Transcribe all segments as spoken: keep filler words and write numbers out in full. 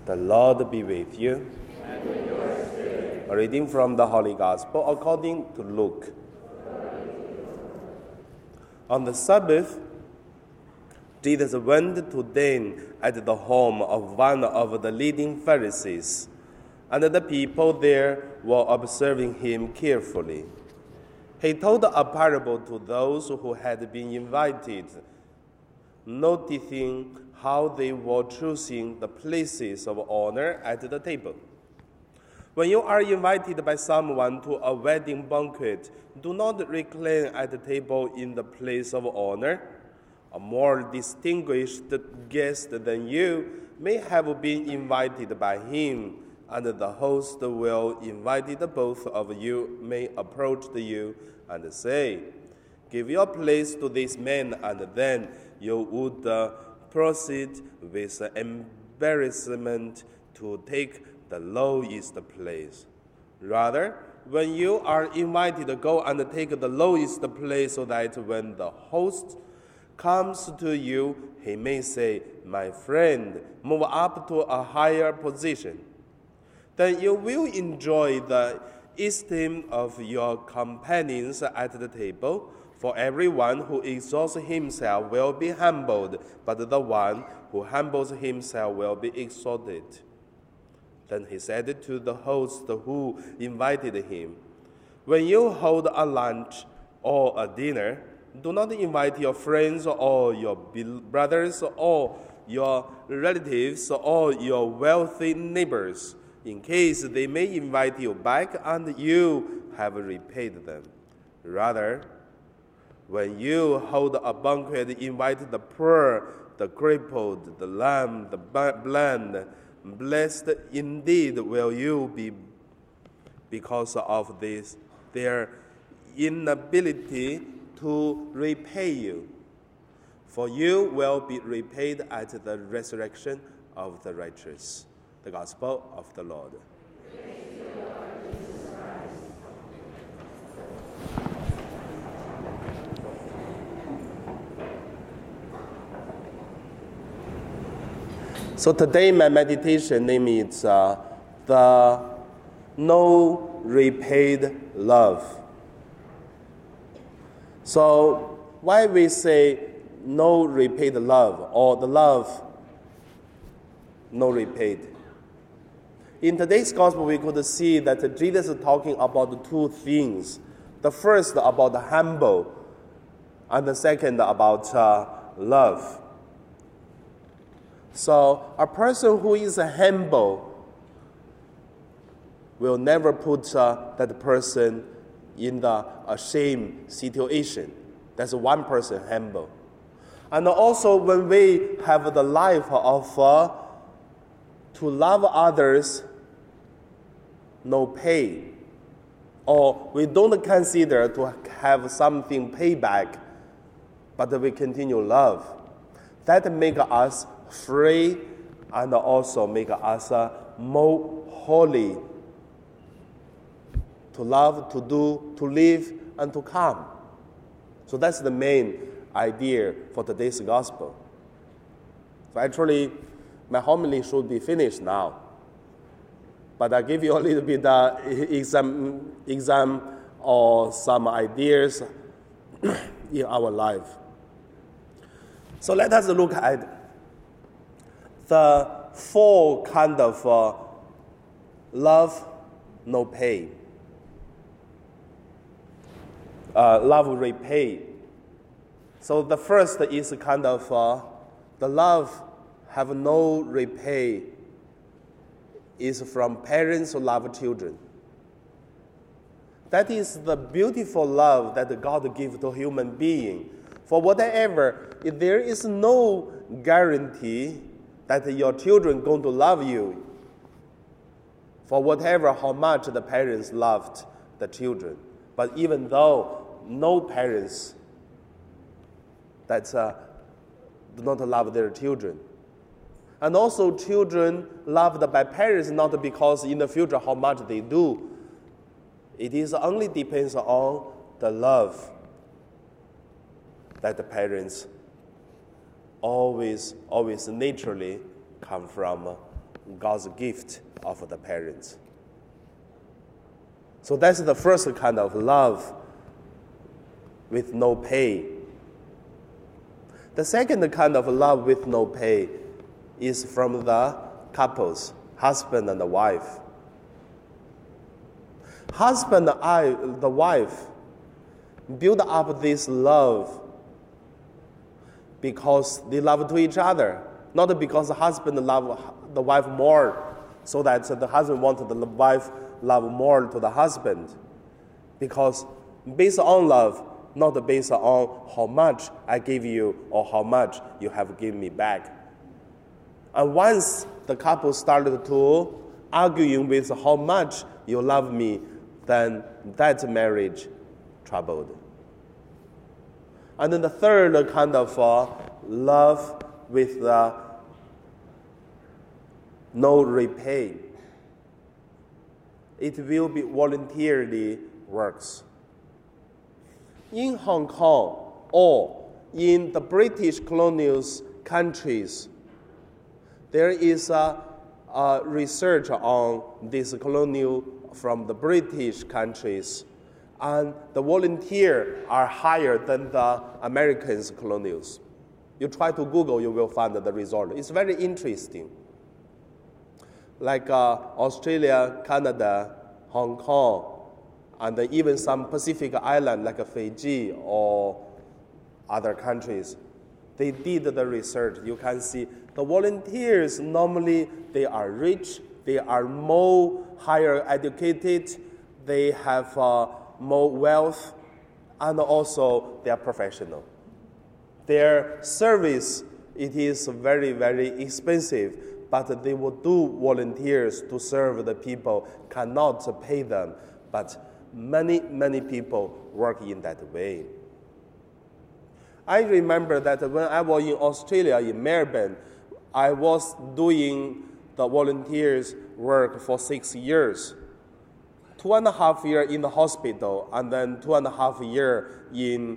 The Lord be with you. And with your spirit. A reading from the Holy Gospel according to Luke. On the Sabbath, Jesus went to dine at the home of one of the leading Pharisees, and the people there were observing him carefully. He told a parable to those who had been invited, noticing how they were choosing the places of honor at the table. When you are invited by someone to a wedding banquet, do not recline at the table in the place of honor. A more distinguished guest than you may have been invited by him, and the host will invite both of you may approach you and say, "Give your place to this man," and then you would uh, proceed with embarrassment to take the lowest place. Rather, when you are invited, go and take the lowest place, so that when the host comes to you, he may say, "My friend, move up to a higher position." Then you will enjoy the esteem of your companions at the table. For everyone who exalts himself will be humbled, but the one who humbles himself will be exalted. Then he said to the host who invited him, "When you hold a lunch or a dinner, do not invite your friends or your brothers or your relatives or your wealthy neighbors, in case they may invite you back and you have repaid them. Rather, when you hold a banquet, invite the poor, the crippled, the lame, the blind. Blessed indeed will you be because of this, their inability to repay you. For you will be repaid at the resurrection of the righteous." The Gospel of the Lord. Praise you, Lord Jesus Christ. So today my meditation name is uh, the No Repaid Love. So why we say no repaid love, or the love no repaid? In today's gospel, we could see that Jesus is talking about two things. The first about humble, and the second about uh, love. So a person who is humble will never put uh, that person in the ashamed situation. That's one person humble. And also when we have the life of uh, to love others, no pay, or we don't consider to have something payback, but we continue love, that make us free and also make us uh, more holy to love, to do, to live, and to come. So that's the main idea for today's gospel. So actually, my homily should be finished now. But I give you a little bit uh, exam, exam or some ideas in our life. So let us look at the four kind of uh, love, no pay. Uh, love repay. So the first is kind of uh, the love have no repay is from parents who love children. That is the beautiful love that God gives to human being. For whatever, if there is no guarantee that your children are going to love you, for whatever how much the parents loved the children. But even though no parents that uh, do not love their children. And also children loved by parents not because in the future how much they do. It is only depends on the love that the parents always, always naturally come from God's gift of the parents. So that's the first kind of love with no pay. The second kind of love with no pay is from the couples, husband and the wife. Husband and I, the wife, build up this love because they love to each other, not because the husband loves the wife more, so that the husband wants the wife love more to the husband. Because based on love, not based on how much I give you or how much you have given me back. And once the couple started to arguing with how much you love me, then that marriage troubled. And then the third kind of uh, love with uh, no repay. It will be voluntarily works. In Hong Kong or in the British colonial countries, there is a, a research on this colonial from the British countries, and the volunteers are higher than the American colonials. You try to Google, you will find the result. It's very interesting. Like uh, Australia, Canada, Hong Kong, and even some Pacific island like Fiji or other countries, they did the research. You can see the volunteers normally they are rich, they are more higher educated, they have uh, more wealth, and also they are professional. Their service, it is very, very expensive, but they will do volunteers to serve the people, cannot pay them, but many, many people work in that way. I remember that when I was in Australia, in Melbourne, I was doing the volunteers work for six years. Two and a half years in the hospital, and then two and a half years in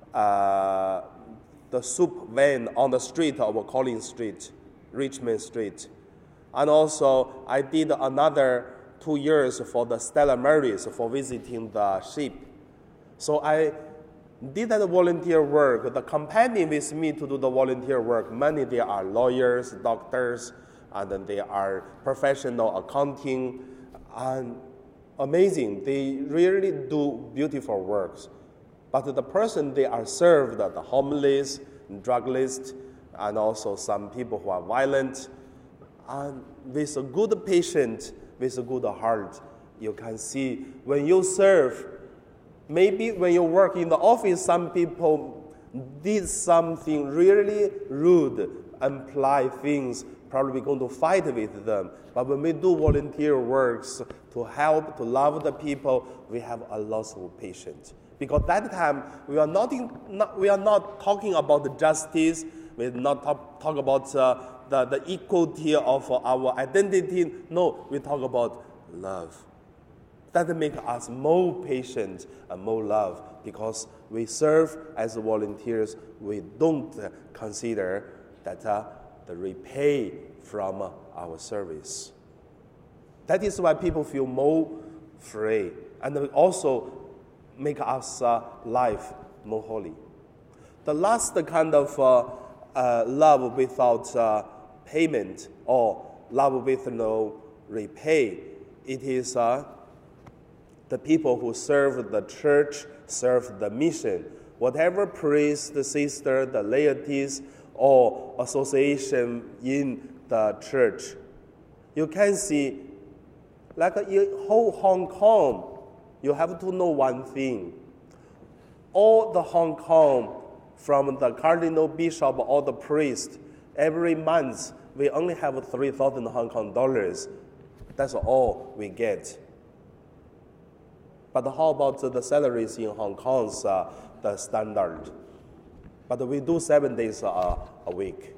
uh, the soup van on the street of Collins Street, Richmond Street. And also, I did another two years for the Stella Maris for visiting the ship. So I did that volunteer work. The companion with me to do the volunteer work, many they are lawyers, doctors, and then they are professional accounting, and amazing. They really do beautiful works. But the person they are served, the homeless, drug list, and also some people who are violent, and with a good patient, with a good heart, you can see when you serve, maybe when you work in the office, some people did something really rude, imply things, probably going to fight with them. But when we do volunteer works to help, to love the people, we have a lot of patience. Because that time, we are not, in, not, we are not talking about justice, we are not talk, talk about uh, the, the equality of our identity. No, we talk about love. That makes us more patient and more love, because we serve as volunteers. We don't consider that uh, the repay from uh, our service. That is why people feel more free, and also make us uh, life more holy. The last kind of uh, uh, love without uh, payment, or love with no repay, it is uh, the people who serve the church, serve the mission. Whatever priest, the sister, the laities, or association in the church, you can see, like in whole Hong Kong, you have to know one thing. All the Hong Kong, from the cardinal, bishop, or the priest, every month we only have three thousand Hong Kong dollars. That's all we get. But how about the salaries in Hong Kong's uh, the standard? But we do seven days uh, a week.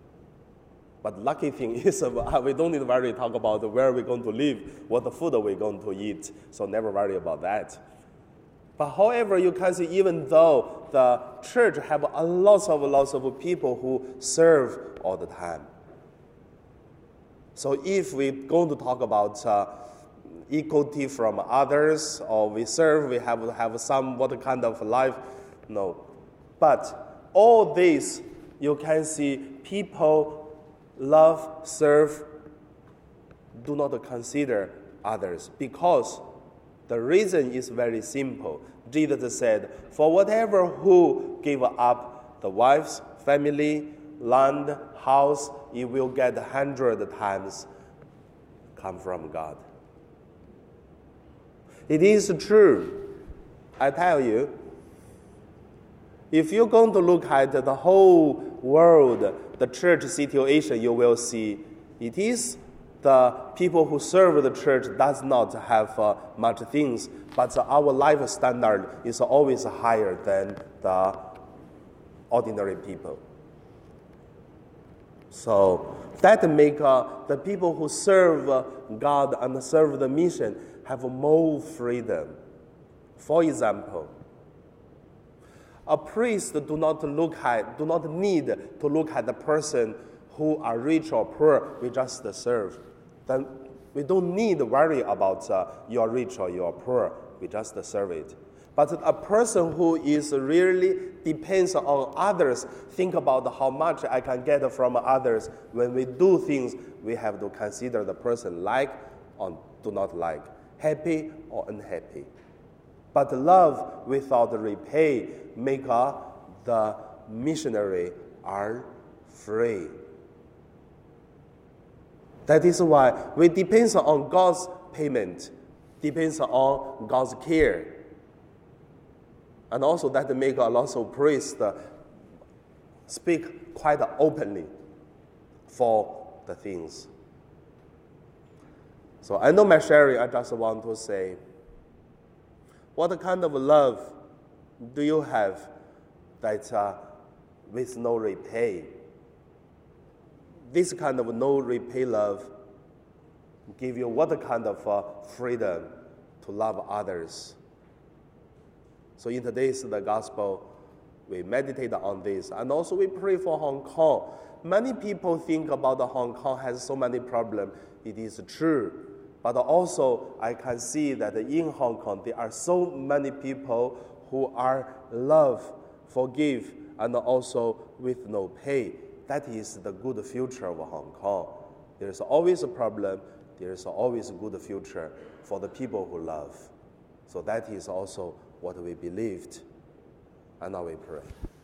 But lucky thing is uh, we don't need to worry talk about where we're going to live, what the food we're going to eat. So never worry about that. But however, you can see even though the church have a lot of lots of people who serve all the time. So if we're going to talk about uh, equality from others, or we serve, we have to have some what kind of life, no. But all this, you can see people love, serve, do not consider others, because the reason is very simple. Jesus said, for whatever who give up the wife's family, land, house, it will get a hundred times come from God. It is true. I tell you, if you're going to look at the whole world, the church situation, you will see it is the people who serve the church does not have uh, much things, but uh, our life standard is always higher than the ordinary people. So that make uh, the people who serve uh, God and serve the mission have more freedom. For example, a priest do not look at, do not need to look at the person who are rich or poor. We just serve. Then we don't need to worry about uh, you're rich or you're poor. We just serve it. But a person who is really depends on others, think about how much I can get from others. When we do things, we have to consider the person like or do not like, happy or unhappy. But love without repay make uh, the missionary are free. That is why we depend on God's payment, depends on God's care. And also that make a lot of priests uh, speak quite openly for the things. So I know my sharing, I just want to say, what kind of love do you have that uh, with no repay? This kind of no repay love give you what kind of uh, freedom to love others? So in today's the gospel, we meditate on this, and also we pray for Hong Kong. Many people think about the Hong Kong has so many problems. It is true. But also, I can see that in Hong Kong, there are so many people who are love, forgive, and also with no pay. That is the good future of Hong Kong. There is always a problem. There is always a good future for the people who love. So that is also what we believed. And now we pray.